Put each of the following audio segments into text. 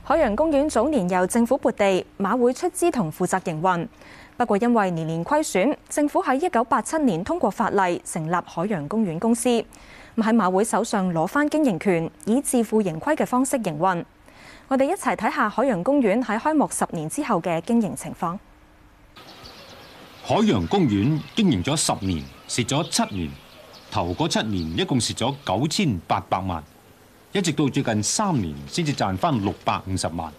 海洋公園早年由政府撥地，馬會出資同負責營運。不過因為年年虧損，政府喺1987年通過法例成立海洋公園公司，喺馬會手上攞返經營權，以自負盈虧嘅方式營運。我哋一齊睇下海洋公園喺開幕10年之後嘅經營情況。 海洋公園經營咗10年，蝕咗7年，頭嗰7年一共蝕咗9800萬。一直到最近3年先至賺返650萬。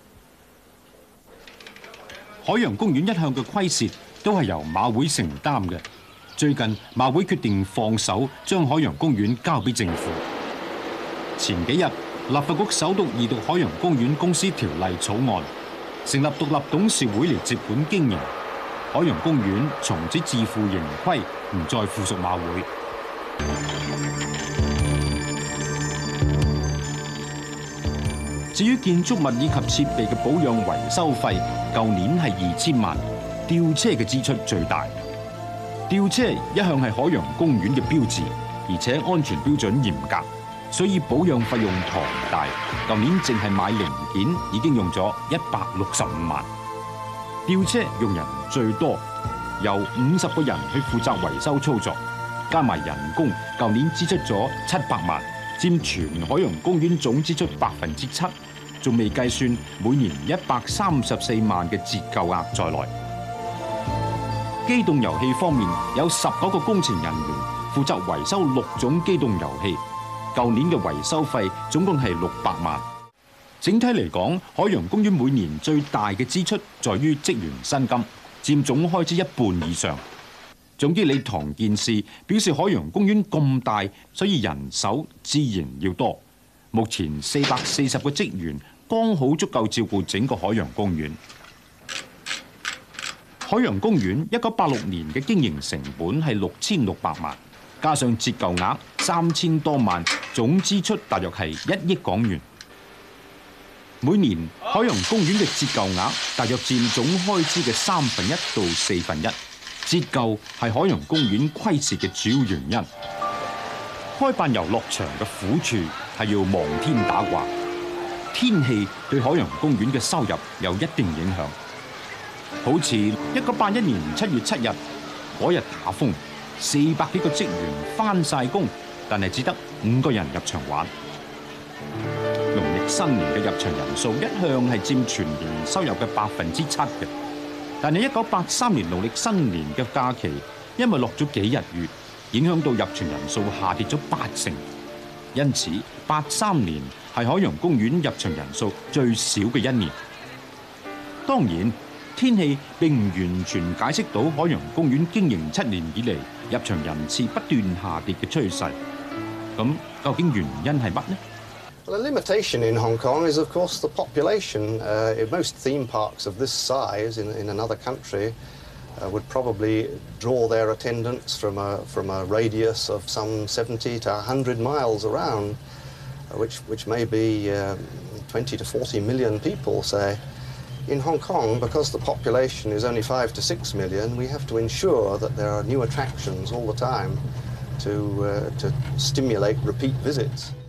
海洋公園一向嘅虧蝕都係由馬會承擔嘅。最近馬會決定放手，將海洋公園交俾政府。前幾日立法局首讀2讀海洋公園公司條例草案，成立獨立董事會嚟接管經營。海洋公園從此自負盈虧，唔再附屬馬會。至於建築物以及設備嘅保養維修費，舊年係2000萬，吊車嘅支出最大。吊車一向係海洋公園嘅標誌，而且安全標準嚴格，所以保養費用龐大。舊年淨係買零件已經用咗165萬。吊車用人最多，由50個人去負責維修操作，加埋人工，舊年支出咗700萬。佔全海洋公園總支出7%，仲未計算每年134萬嘅折舊額在內。機動遊戲方面，有19個工程人員負責維修6種機動遊戲，舊年嘅維修費總共係600萬。整體嚟講，海洋公園每年最大嘅支出在於職員薪金，佔總開支一半以上。總經理唐健士表示，海洋公園咁大，所以人手自然要多。目前440個職員剛好足夠照顧整個海洋公園。海洋公園1986年嘅經營成本係6600萬，加上折舊額3000多萬，總支出大約係1億港元。每年海洋公園嘅折舊額大約佔總開支嘅1/3到1/4。折舊係海洋公園虧蝕嘅主要原因。開辦遊樂場嘅苦處係要望天打卦，天氣對海洋公園嘅收入有一定影響。好似1981年7月7日嗰日打風，400幾個職員返晒工，但係只得5個人入場玩。農曆新年嘅入場人數一向係佔全年收入嘅7%嘅。但係1983年農曆新年嘅假期，因為落咗幾日雨，影響到入場人數下跌咗80%。因此83年係海洋公園入場人數最少嘅一年。當然，天氣並唔完全解釋到海洋公園經營7年以嚟入場人次不斷下跌嘅趨勢。咁究竟原因係乜呢？ Well, the limitation in Hong Kong is, of course, the population. Most theme parks of this size in another country would probably draw their attendance from a radius of some 70 to 100 miles around, which may be 20 to 40 million people, say. In Hong Kong, because the population is only 5 to 6 million, we have to ensure that there are new attractions all the time to stimulate repeat visits.